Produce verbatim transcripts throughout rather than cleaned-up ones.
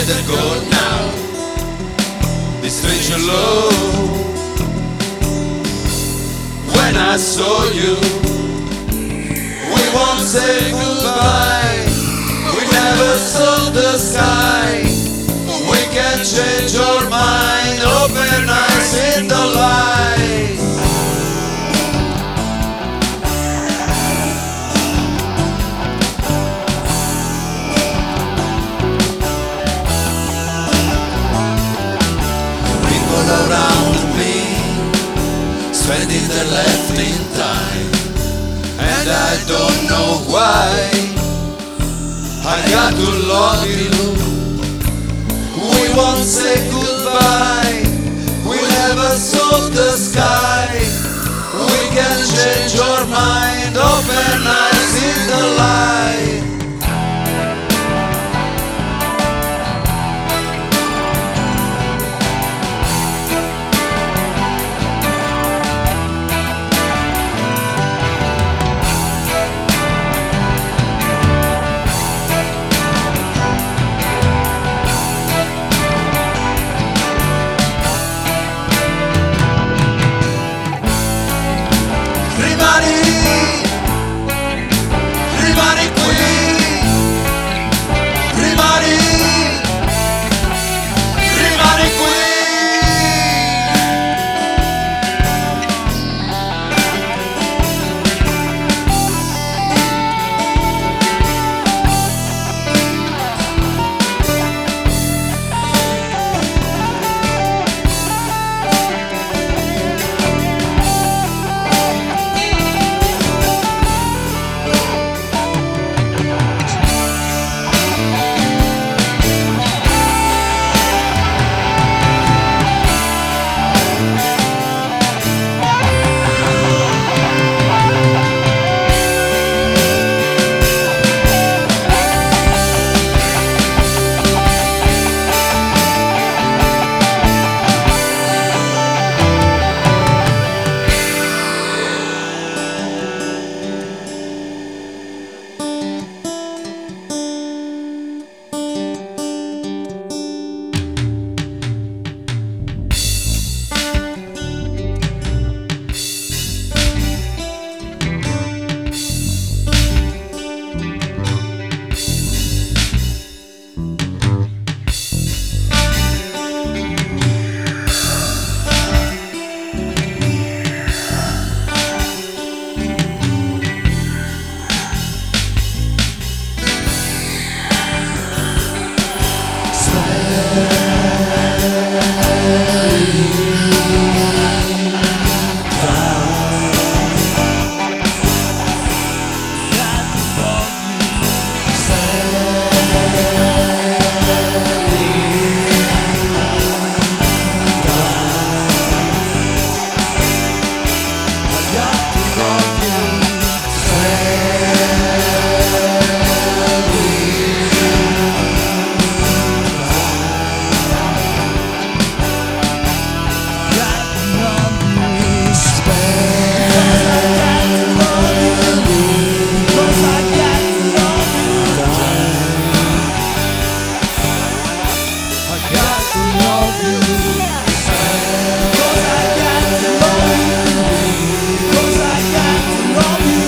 better go now. This stranger love. When I saw you, we won't say goodbye. We never saw the sky. We can change our mind. Open eyes in the light. People around me spending their left in time, and I don't know why. I got to love you. We won't say goodbye. We never saw the sky. We can change our mind. Open eyes in the light.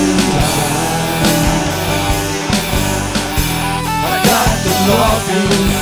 Love you.